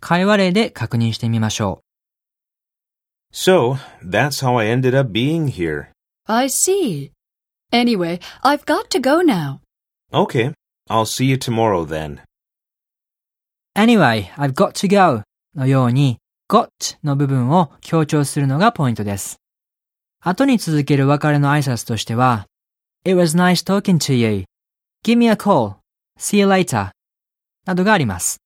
会話例で確認してみましょう。 So, that's how I ended up being here. I see. Anyway, I've got to go now. Okay, I'll see you tomorrow then. Anyway, I've got to go のように got の部分を強調するのがポイントです。後に続ける別れの挨拶としては It was nice talking to you. Give me a call. See you later. などがあります。